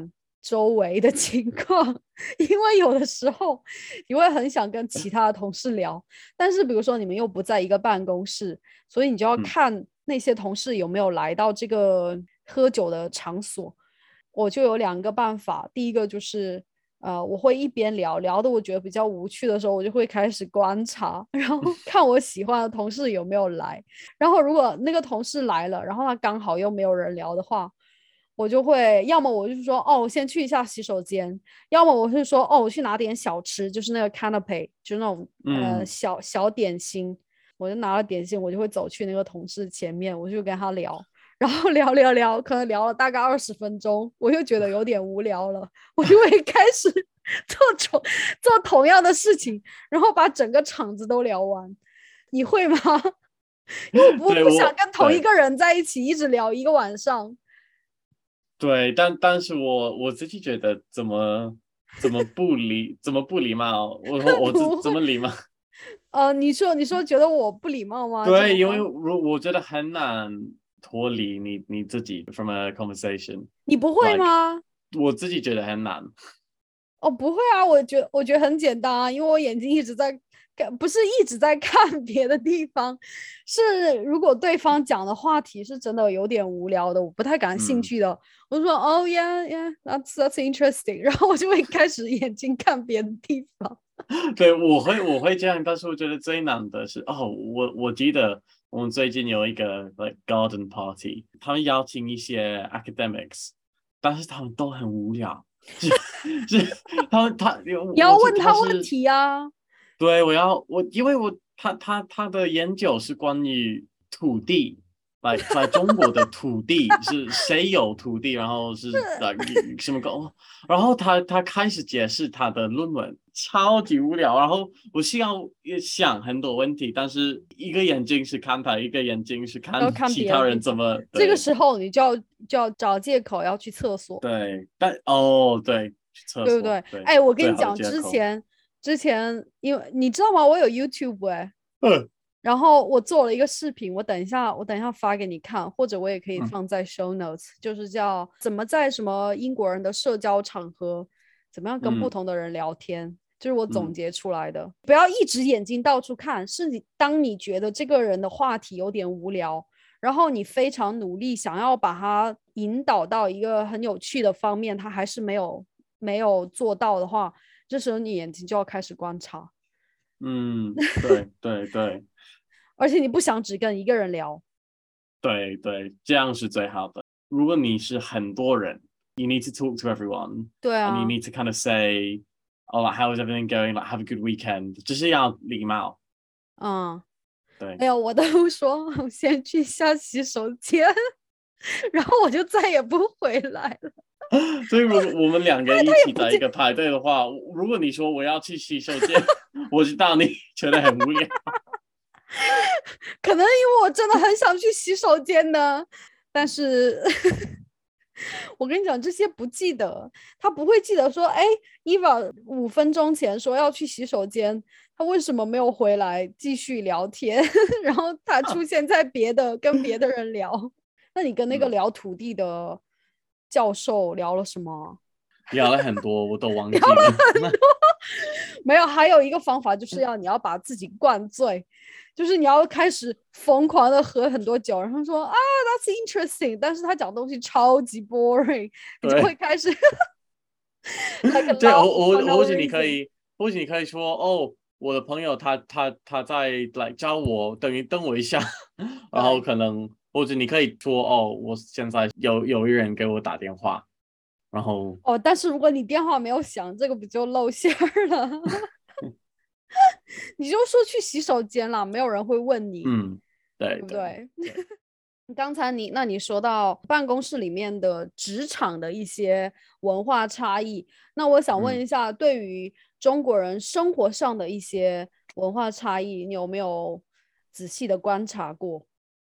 周围的情况，因为有的时候你会很想跟其他的同事聊，但是比如说你们又不在一个办公室，所以你就要看那些同事有没有来到这个喝酒的场所。我就有两个办法，第一个就是呃，我会一边聊聊的，我觉得比较无趣的时候，我就会开始观察，然后看我喜欢的同事有没有来。然后如果那个同事来了，然后他刚好又没有人聊的话，我就会要么我就说哦，我先去一下洗手间，要么我是说哦，我去拿点小吃，就是那个 canapé，就是那种呃小小点心。我就拿了点心，我就会走去那个同事前面，我就跟他聊。然后聊聊聊，可能聊了大概二十分钟，我又觉得有点无聊了，我就会开始做同做同样的事情，然后把整个场子都聊完。你会吗？因为我不不想跟同一个人在一起一直聊一个晚上。 对，但但是我我自己觉得怎么怎么不礼怎么不礼貌，我我怎怎么礼貌？ 呃，你说你说觉得我不礼貌吗？ 对，因为如我觉得很难脱离你你自己 from a conversation。 你不会吗？ Like, 我自己觉得很难。 哦，不会啊，我觉我觉得很简单啊，因为我眼睛一直在看，不是一直在看别的地方，是如果对方讲的话题是真的有点无聊的，我不太感兴趣的，嗯、我就说哦 yeah yeah that's that's interesting， 然后我就会开始眼睛看别的地方。 对，我会我会这样，但是我觉得最难的是哦，我我记得我们最近有一个 like garden party， 他们邀请一些 academics， 但是他们都很无聊。是是，他他你要问他问题啊。 对，我要我，因为我他他他的研究是关于土地，来在中国的土地是谁有土地，然后是呃什么狗，然后他他开始解释他的论文，超级无聊。然后我需要想很多问题，但是一个眼睛是看他，一个眼睛是看其他人怎么。 这个时候你就要就要找借口要去厕所。 对，但哦对，去厕所对不对？ 对， 哎，我跟你讲，之前之前因为你知道吗？我有 YouTube 哎、欸，嗯，然后我做了一个视频，我等一下我等一下发给你看，或者我也可以放在 show notes，、嗯、就是叫怎么在什么英国人的社交场合，怎么样跟不同的人聊天。嗯，就是我总结出来的。嗯、不要一直眼睛到处看，是你当你觉得这个人的话题有点无聊，然后你非常努力想要把他引导到一个很有趣的方面，他还是没有没有做到的话，这时候你眼睛就要开始观察。 嗯，对对对。 而且你不想只跟一个人聊。 对对，这样是最好的。如果你是很多人 ，you need to talk to everyone。 对啊。 And you need to kind of say, oh, like, how is everything going? Like, have a good weekend。就是要礼貌。 嗯， 对。 没有，我都说我先去下洗手间，然后我就再也不回来了。 所以，如果我们两个一起在一个排队的话，如果你说我要去洗手间，我知道你觉得很无聊。 可能因为我真的很想去洗手间呢，但是我跟你讲，这些不记得，他不会记得说，哎 ，Eva 五分钟前说要去洗手间，他为什么没有回来继续聊天？然后他出现在别的跟别的人聊。那你跟那个聊土地的教授聊了什么？ 聊了很多，我都忘记了。 聊了很多没有，还有一个方法就是要你要把自己灌醉，就是你要开始疯狂的喝很多酒，然后说啊 ，That's interesting， 但是他讲东西超级 boring， 你就会开始 like 对，我我或许你可以，或许你可以说哦，我的朋友他他他在来教我，等于等我一下，然后可能或者你可以说哦，我现在有有一人给我打电话。然后哦，但是如果你电话没有响，这个不就露馅了？你就说去洗手间了，没有人会问你。 嗯，对， 对不对？刚才你那你说到办公室里面的职场的一些文化差异，那我想问一下，嗯、对于中国人生活上的一些文化差异，你有没有仔细的观察过？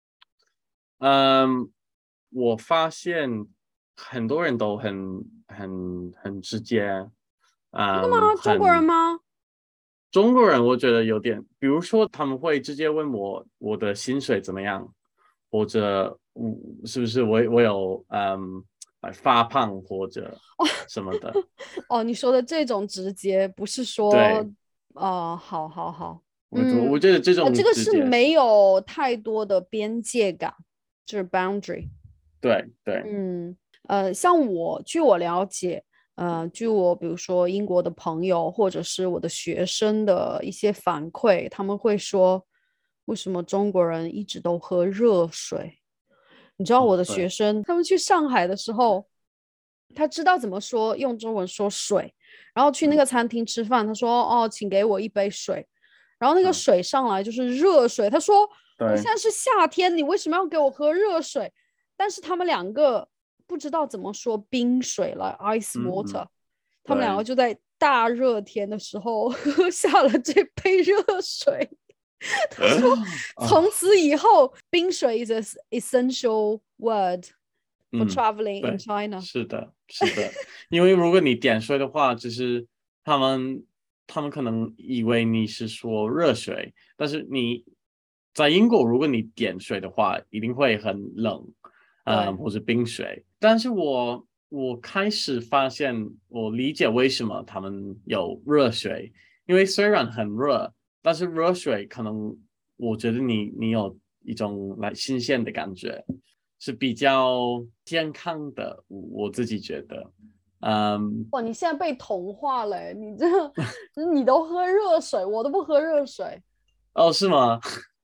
嗯，我发现很多人都很很很直接。 真的吗？中国人吗？ 中国人我觉得有点，比如说他们会直接问我我的薪水怎么样，或者是不是我我有嗯来发胖或者什么的。 哦，你说的这种直接不是说， 对， 哦，好好好， 我嗯， 我觉得这呃，这个种直接是是没有太多的边界感，就是 boundary。 对对， 嗯，呃，像我，据我了解，呃，据我比如说英国的朋友或者是我的学生的一些反馈，他们会说，为什么中国人一直都喝热水？你知道我的学哦对， 生，他们去上海的时候，他知道怎么说，用中文说水，然后去那嗯个餐厅吃饭，他说：“哦，请给我一杯水。”然后那个嗯水上来就是热水，他说：“我现对， 在是夏天，你为什么要给我喝热水？”但是他们两个不知道怎么说冰水了，ice 嗯 water， 嗯他们两个对， 就在大热天的时候喝下了这杯热水。他说，从啊， 此以后，冰水 is an essential word for 嗯， traveling in 对， China。 是的，是的，因为如果你点水的话，就是他们他们可能以为你是说热水，但是你在英国，如果你点水的话，一定会很冷，嗯， 对或者冰水。但是我我开始发现，我理解为什么他们有热水，因为虽然很热，但是热水可能我觉得你你有一种来新鲜的感觉。是比较健康的，我我自己觉得，嗯， 哇，你现在被同化了，你这你都喝热水，我都不喝热水， 哦，是吗？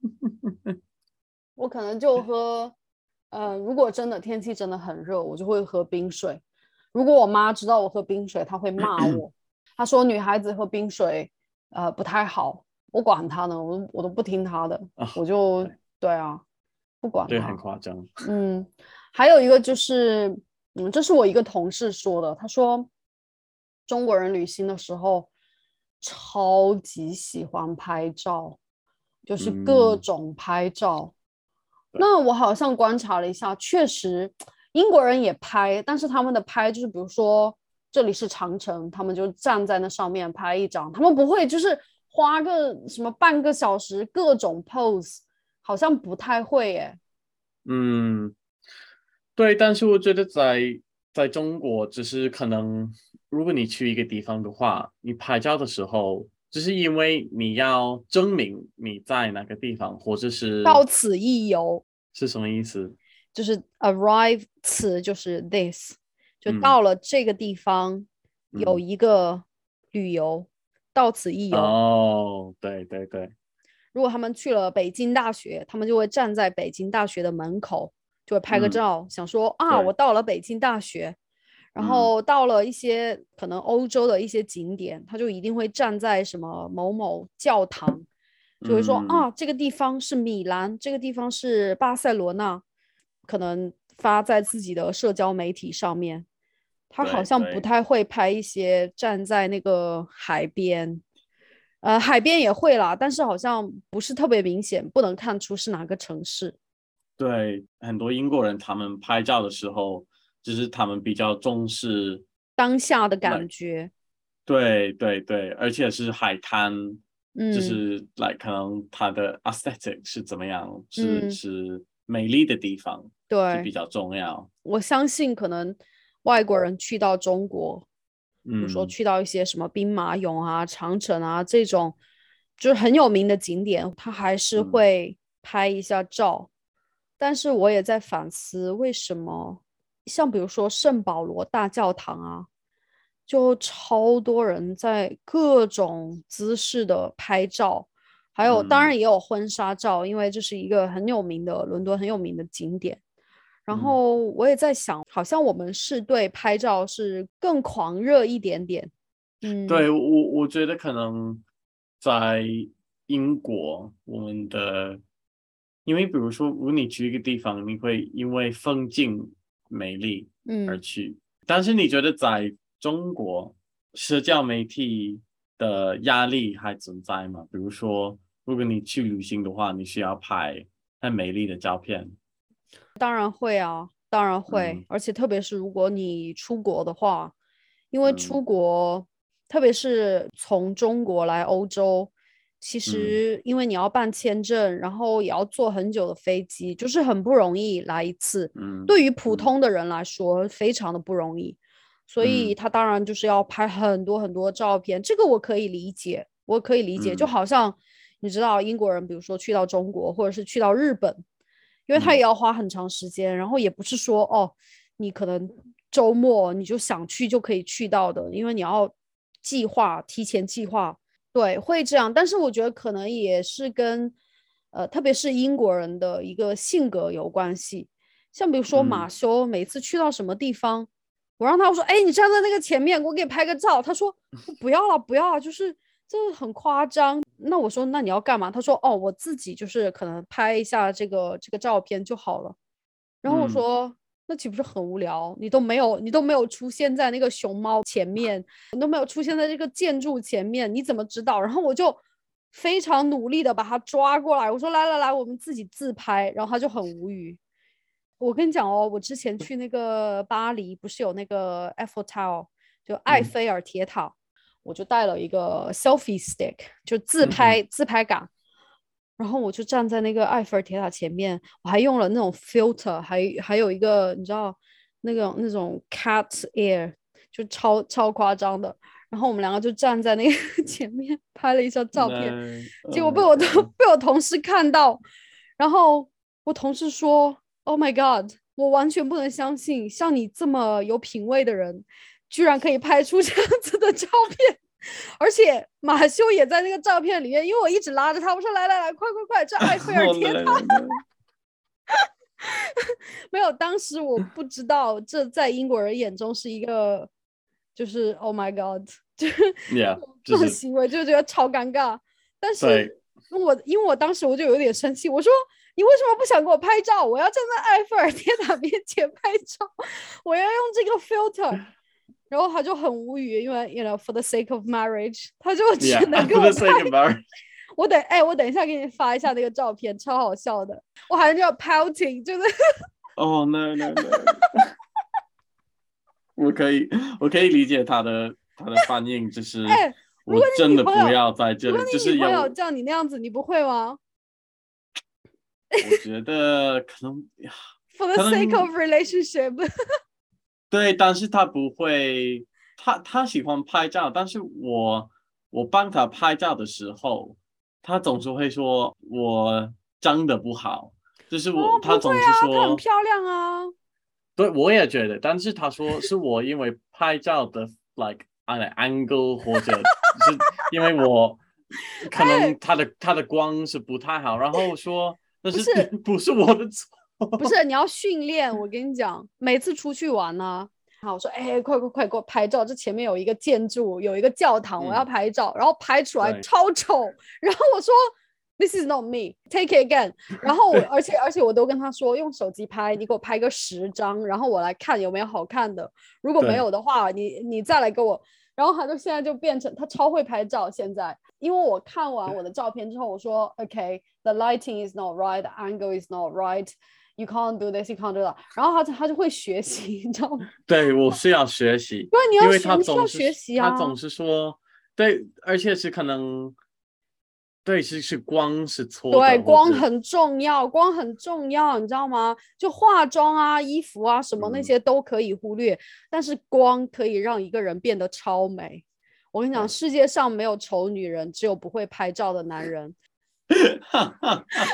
我可能就喝，呃，如果真的天气真的很热，我就会喝冰水。如果我妈知道我喝冰水，她会骂我，她说女孩子喝冰水，呃，不太好。我管她呢，我我都不听她的， 啊、 我就对对啊，不管对，很她。 夸张， 嗯，还有一个就是，嗯，这是我一个同事说的，他说中国人旅行的时候超级喜欢拍照，就是各嗯， 种拍照。 对， 那我好像观察了一下，确实英国人也拍，但是他们的拍就是比如说这里是长城，他们就站在那上面拍一张，他们不会就是花个什么半个小时各种 pose，好像不太会耶。 嗯，对，但是我觉得在在中国，只是可能如果你去一个地方的话，你拍照的时候，只是因为你要证明你在哪个地方，或者是到此一游， 是什么意思？ 就是 arrive 词就是 this，就嗯到了这个地方有嗯， 一个旅游，到此一游。 哦，对对对， 如果他们去了北京大学，他们就会站在北京大学的门口，就会拍个嗯照，想说啊，我对， 到了北京大学。然嗯后到了一些可能欧洲的一些景点，他就一定会站在什么某某教堂，就会说嗯。 啊，这个地方是米兰，这个地方是巴塞罗那，可能发在自己的社交媒体上面。他好像不对对太会拍一些站在那个海边，呃，海边也会啦，但是好像不是特别明显，不能看出是哪个城市。 对，很多英国人他们拍照的时候，就是他们比较重视当下的那， 感觉。 对对对，而且是海滩，就嗯是来可能它的 aesthetic 是怎么样，是嗯， 是美丽的地方是对， 比较重要。 我相信可能外国人去到中国，比如说嗯去到一些什么兵马俑啊、长城啊这种，就是很有名的景点，他还是嗯会拍一下照。但是我也在反思，为什么像比如说圣保罗大教堂啊，就超多人在各种姿势的拍照，还有当然嗯也有婚纱照，因为这是一个很有名的伦敦很有名的景点。然嗯， 后我也在想，好像我们是对拍照是更狂热一点点。嗯对，我我觉得可能在英国，我们的，因为比如说，如果你去一个地方，你会因为风景美丽而嗯。 去，但是你觉得在中国，社交媒体的压力还存在吗？比如说，如果你去旅行的话，你需要拍很美丽的照片， 当然会啊，当然会， 嗯而且特别是如果你出国的话，因为嗯出国，特别是从中国来欧洲， 其嗯实因为你要办签证，然后也要坐很久的飞机，就是很不容易来一次。 嗯对于普嗯通的人来说，非常的不容易，所以嗯他当然就是要拍很多很多照片。这个我可以理解，我可以理解。就嗯好像你知道英国人，比如说去到中国或者是去到日本，因为他也嗯要花很长时间，然后也不是说哦，你可能周末你就想去就可以去到的，因为你要计划，提前计划。对，会这样，但是我觉得可能也是跟，呃，特别是英国人的一个性格有关系。像比如说马嗯修，每次去到什么地方，我让他我说，哎，你站在那个前面，我给你拍个照。他说不要了，不要了，就是这很夸张。那我说那你要干嘛？他说哦，我自己就是可能拍一下这个这个照片就好了。然后我嗯说那岂不是很无聊？你都没有，你都没有出现在那个熊猫前面，你都没有出现在这个建筑前面，你怎么知道？然后我就非常努力的把他抓过来，我说来来来，我们自己自拍。然后他就很无语。我跟你讲哦，我之前去那个巴黎，不是有那个 Eiffel Tower，就埃嗯菲尔铁塔，我就带了一个 selfie stick，就自嗯哼拍自拍杆。然后我就站在那个埃菲尔铁塔前面，我还用了那种 filter，还还有一个你知道那个那种 cat ear，就超超夸张的。然后我们两个就站在那个前面拍了一张照片， 那结 Oh 果被 my 我的 God， 被我同事看到，然后我同事说：“Oh my God，我完全不能相信，像你这么有品味的人，居然可以拍出这样子的照片。”而且马修也在那个照片里面，因为我一直拉着他，我说来来来，快快快，这埃菲尔好铁塔。 累了。 没有，当时我不知道这在英国人眼中是一个，就是 Oh my God，就是 ，Yeah， 这种就是行为就觉得超尴尬。但是对， 我因为我当时我就有点生气，我说你为什么不想给我拍照？我要站在埃菲尔铁塔面前拍照，我要用这个 filter。然后他就很无语，因为 you know for the sake of marriage，他就只能给 Yeah，for 我 the 拍。 sake of marriage。 我等哎，我等一下给你发一下那个照片，超好笑的。我还叫 pouting，就是哦，no no no，我可以我可以理解他的他的反应，就是哎，如我果你真的不女朋友， 要在这里， 如果就你女朋友是有， 叫你那样子，你不会吗我觉得可能 ？For the 可 sake 能 of relationship， 对，但是他不会，他他喜欢拍照，但是我我帮他拍照的时候，他总是会说我长得不好，就是哦， 我他总是不会啊，她很说， 漂亮啊。 对我也觉得，但是他说是我因为拍照的 like an angle 或者是因为我可哎， 能他的他的光是不太好，然后说那是不是不是我的错， 不是，你要训练。我跟你讲，每次出去玩呢、好，我说，哎，快快快给我拍照！这前面有一个建筑，有一个教堂，我要嗯， 拍照。然后拍出来对超丑。然后我说，This is not me. Take it again。然后我，而且而且我都跟他说，用手机拍，你给我拍个十张，然后我来看有没有好看的。如果没对， 有的话，你你再来给我。然后他就现在就变成他超会拍照。现在，因为我看完我的照片之后，我说，OK，the lighting is not right, the angle is not right。You can't do this, you can't do that。然后他他就会学习，你知道吗？ 对，我是要学习， 对，你要学， 因为他你是要总是学习啊。 他总是说，对，而且是可能，对，是是光是错对， 的，或者光很重要，光很重要，你知道吗？就化妆啊、衣服啊什么那嗯， 些都可以忽略，但是光可以让一个人变得超美。我跟你讲， 对， 世界上没有丑女人，只有不会拍照的男人。 哈哈哈，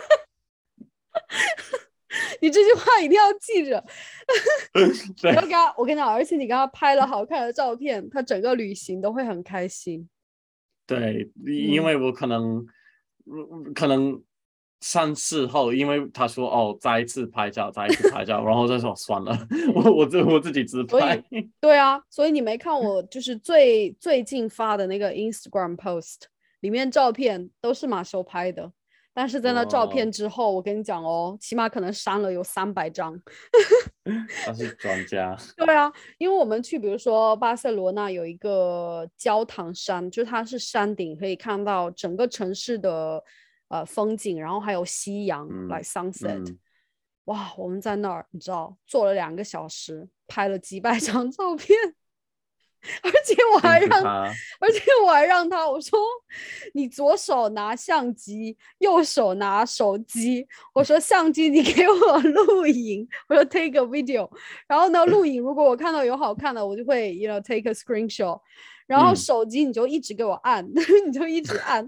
你这句话一定要记着。你要对跟他，我跟你讲，而且你跟他拍了好看的照片，他整个旅行都会很开心。 对，因嗯， 为我可能嗯可能三次后，因为他说哦，再一次拍照，再一次拍照，然后就说算了，我我自我自己自拍， 所以对啊，所以你没看我就是最最近发的那个 Instagram post，里面照片都是马修拍的，但是在那照哇， 片之后，我跟你讲哦，起码可能删了有三百张。 他是专家， 对啊，因为我们去，比如说巴塞罗那有一个焦糖山，就是它是山顶，可以看到整个城市的呃风景，然后还有夕阳来、 嗯 like、sunset。 嗯。 哇，我们在那儿，你知道，坐了两个小时，拍了几百张照片。 而且我还让， 辛苦他而且我还让他，我说你左手拿相机，右手拿手机。我说相机你给我录影，我说 take a video。然后呢，录影如果我看到有好看的，我就会 you know take a screenshot。然后手机你就一直给我按，嗯、你就一直按。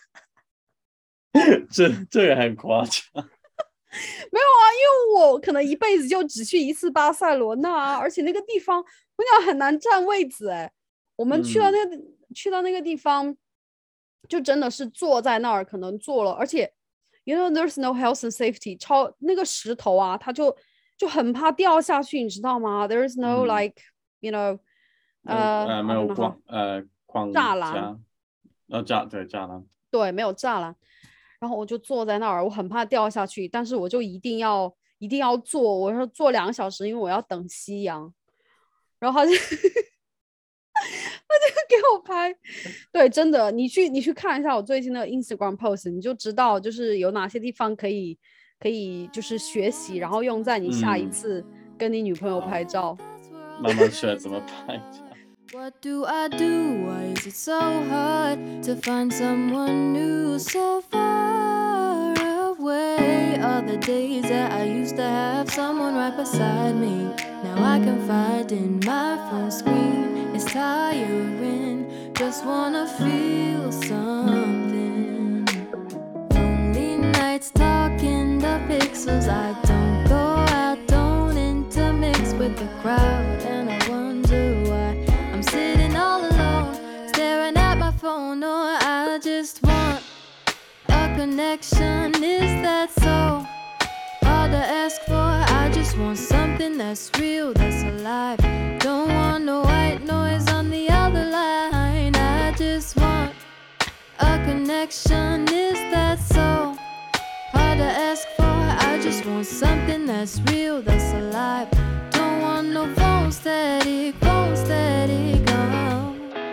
这这个很夸张。 没有啊，因为我可能一辈子就只去一次巴塞罗那啊，而且那个地方我讲很难占位子哎。我们去到那个、嗯、去到那个地方，就真的是坐在那儿，可能坐了，而且 you know there's no health and safety， 超那个石头啊，它就就很怕掉下去，你知道吗 ？There's no、嗯、like you know 呃呃没有框呃框栅栏， 呃栅对栅栏， 对，没有栅栏。然后我就坐在那儿，我很怕掉下去，但是我就一定要一定要坐，我说坐两个小时，因为我要等夕阳。然后他就他就给我拍，对，真的，你去你去看一下我最近的 Instagram post， 你就知道就是有哪些地方可以可以就是学习，然后用在你下一次跟你女朋友拍照。 嗯、慢慢学怎么拍照。 What do I do? Why is it so hard to find someone new so far away? All the days that I used to have someone right beside me, now I can find in my phone screen. It's tiring, just wanna feel something. Lonely nights talking the pixels. I don't go out, don't intermix with the crowd, and I wonder why I'm sitting all alone, staring at my phone. Or I just want a connection. Is that so hard to ask for? I just want something that's real, that's alive. Don't want no white noise on the other line. I just want a connection. Is that so hard to ask for? I just want something that's real, that's alive. Don't want no phone static, phone static, oh.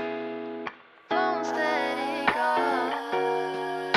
Phone static, oh.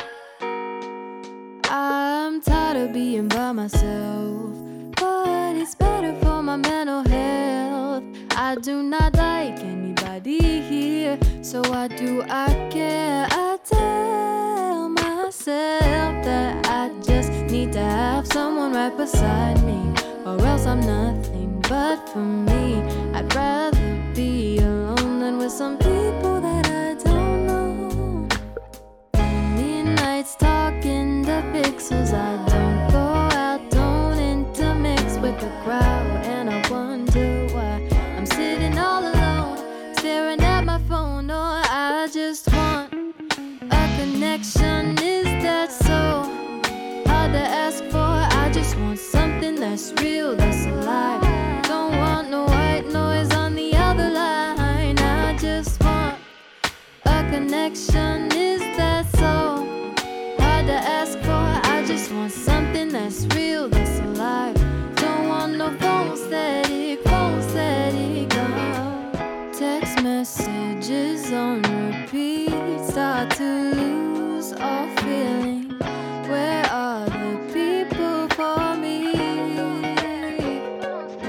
I'm tired of being by myself, but it's better for my mental health. I do not like anybody here, so why do I care? I tell myself that I just need to have someone right beside me, or else I'm nothing. But for me, I'd rather be alone than with some people that I don't know. Lonely nights talking the pixels. I don't go out, don't intermix with the crowd, and I wonder why I'm sitting all alone, staring at my phone. Or I just want a connection. Is that so hard to ask for? I just want something that's real, that's alive. Don't want no white noise on the other line. I just want a connection. Is that so hard to ask for? I just want something that's real, that's alive. Don't want no phone static, phone static, oh. Text messages on repeat, start to lose all feeling. Where are the people for me?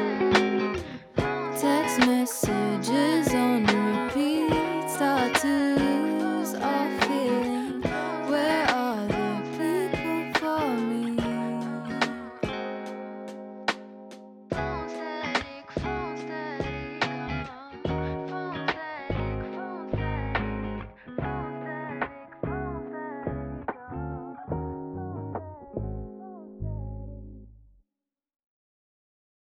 Text messages on repeat, start to